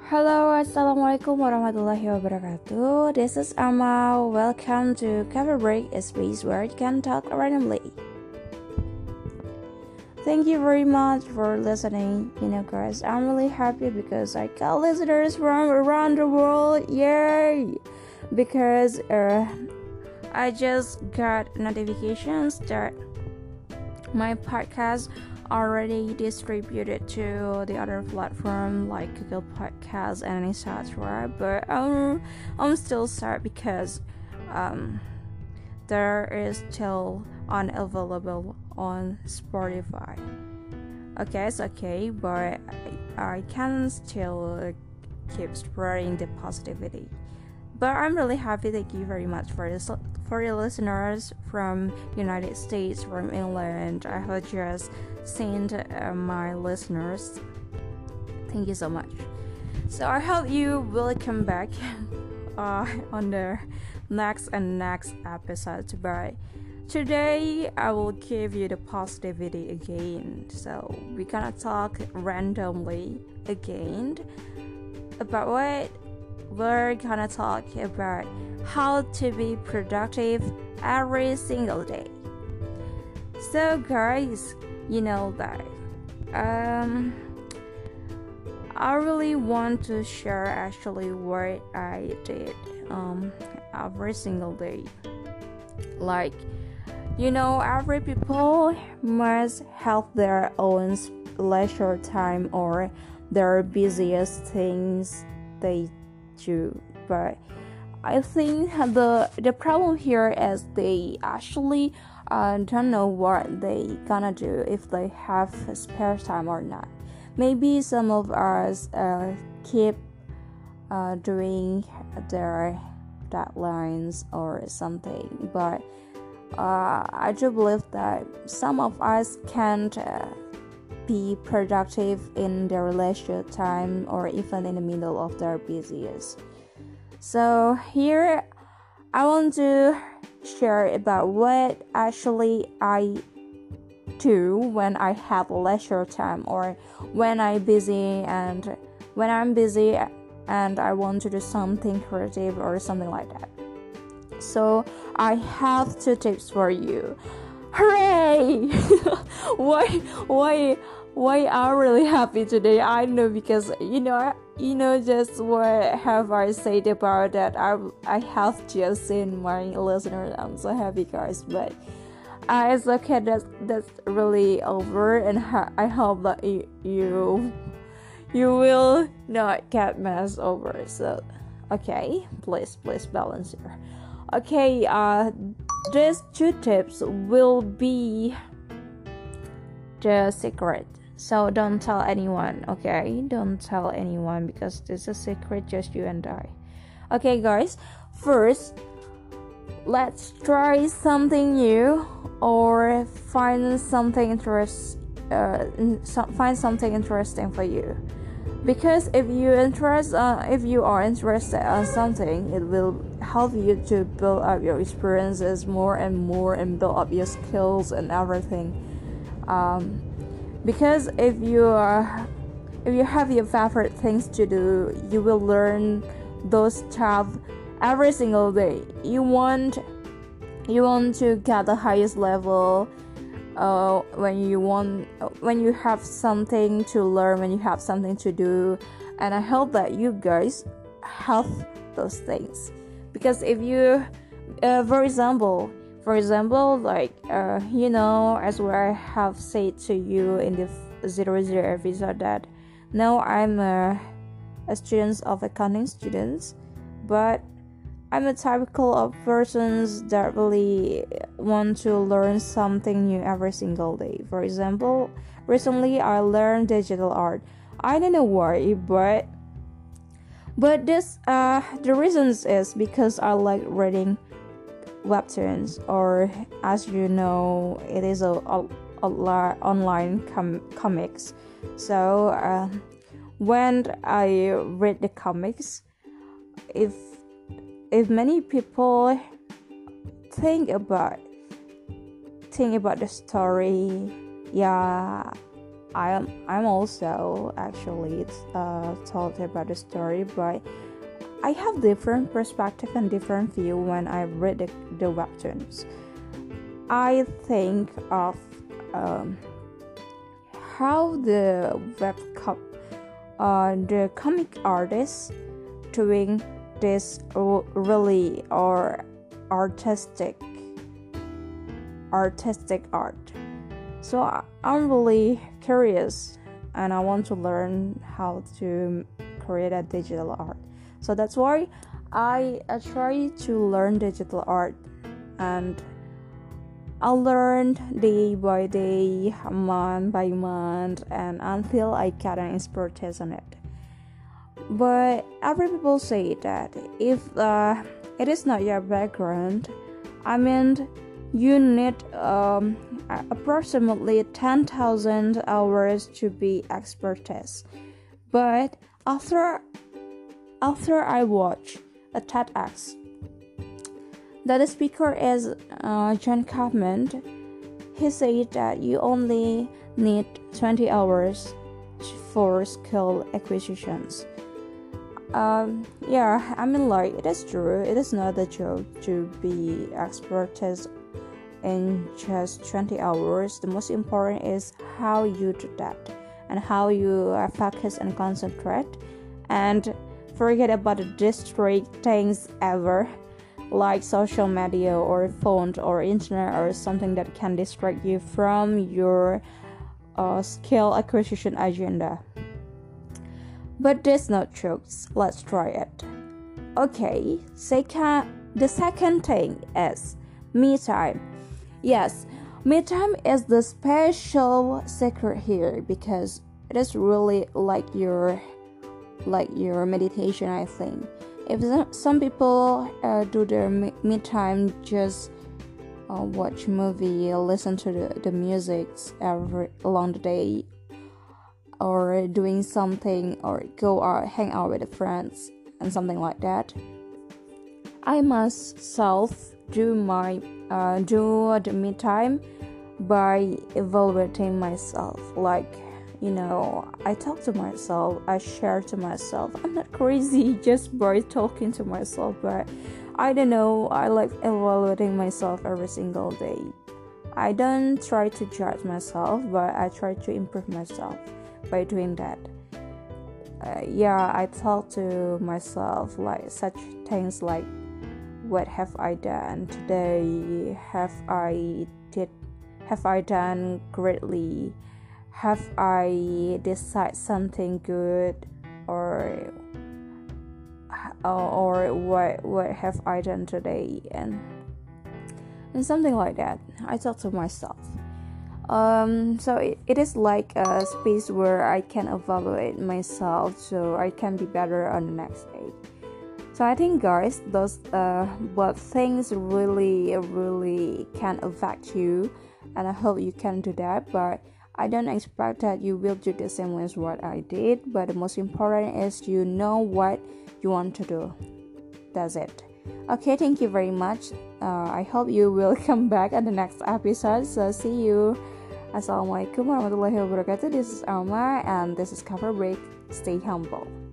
Halo, assalamualaikum warahmatullahi wabarakatuh. This is Amal. Welcome to Cover Break, a space where you can talk randomly. Thank you very much for listening. Guys, I'm really happy because I got listeners from around the world. Yay! Because I just got notifications that my podcast already distributed to the other platform like Google Podcasts and etc. But I'm still sad because there is still unavailable on Spotify. Okay, it's okay, but I can still keep spreading the positivity. But I'm really happy. Thank you very much for your listeners from United States, from England. I have just seen my listeners. Thank you so much. So I hope you will come back on the next episode. But today I will give you the positivity again. So we're gonna talk randomly again about what we're gonna talk about how to be productive every single day. So guys, you know that I really want to share actually what I did every single day. Like, every people must have their own leisure time or their busiest things they do, but I think the problem here is they actually don't know what they gonna do if they have spare time or not. Maybe some of us keep doing their deadlines or something, but I do believe that some of us can't be productive in their leisure time or even in the middle of their busiest. So here I want to share about what actually I do when I have leisure time or when I'm busy and I want to do something creative or something like that. So I have 2 tips for you. Hooray! Why I'm really happy today? I know because just what have I said about that? I have just seen my listeners. I'm so happy, guys. But it's okay. That's really over, and I hope that you will not get messed over. So okay, please balance here. Okay, these 2 tips will be the secret. So don't tell anyone, okay? Don't tell anyone because this is a secret, just you and I. Okay, guys. First, let's try something new or find something interesting for you. Because if you are interested in something, it will help you to build up your experiences more and more and build up your skills and everything. Because if you have your favorite things to do, you will learn those stuff every single day. You want to get the highest level when you have something to learn, when you have something to do, and I hope that you guys have those things. Because if you for example, like as what I have said to you in the 00 episode, that now I'm a student of accounting students, but I'm a typical of persons that really want to learn something new every single day. For example, recently I learned digital art. I don't know why, but this the reasons is because I like reading webtoons, or as you know, it is a online comics. So when I read the comics, if many people think about the story, I'm also actually told about the story, but I have different perspective and different view when I read the webtoons. I think of how the the comic artists doing this really or artistic art. So I'm really curious and I want to learn how to create a digital art. So that's why I try to learn digital art, and I learned day by day, month by month, and until I get an expertise on it. But every people say that if it is not your background, I mean, you need approximately 10,000 hours to be expertise. But after I watch a TEDx, the speaker is John Kaufman. He said that you only need 20 hours for skill acquisitions. Yeah, I mean, like, it is true. It is not a joke to be expertise in just 20 hours. The most important is how you do that and how you focus and concentrate and forget about the distract things ever, like social media or phone or internet or something that can distract you from your skill acquisition agenda. But that's not jokes. Let's try it. Okay, the second thing is me time. Yes, me time is the special secret here because it is really like your meditation, I think. If some people do their me time just watch movie, listen to the music along the day, or doing something, or go out, hang out with friends and something like that, I myself do the me time by evaluating myself. Like, I talk to myself, I share to myself. I'm not crazy just by talking to myself, but I don't know, I like evaluating myself every single day. I don't try to judge myself, but I try to improve myself by doing that. I talk to myself like such things like, what have I done today? Have I done greatly? Have I decided something good? Or what have I done today? And something like that. I talk to myself. So it is like a space where I can evaluate myself so I can be better on the next day. So I think, guys, those what things really can affect you, and I hope you can do that. But I don't expect that you will do the same as what I did. But the most important is you know what you want to do. That's it. Okay, thank you very much. I hope you will come back at the next episode. So see you. Assalamualaikum warahmatullahi wabarakatuh. This is Alma and this is Cover Break. Stay humble.